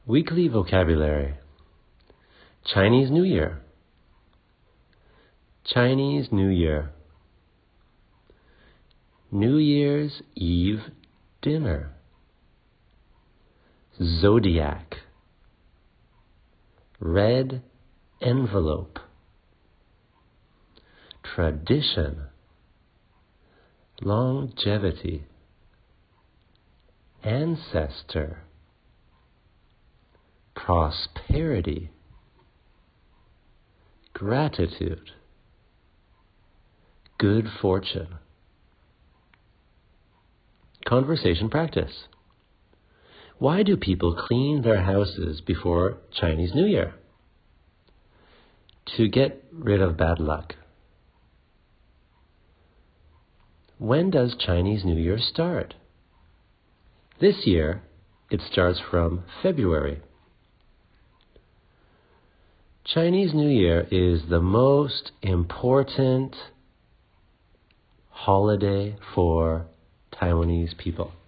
Weekly vocabulary. Chinese New Year. Chinese New Year. New Year's Eve dinner. Zodiac. Red envelope. Tradition. Longevity. Ancestor. Prosperity. Gratitude. Good fortune. Conversation practice. Why do people clean their houses before Chinese New Year? To get rid of bad luck. When does Chinese New Year start? This year, it starts from February. Chinese New Year is the most important holiday for Taiwanese people.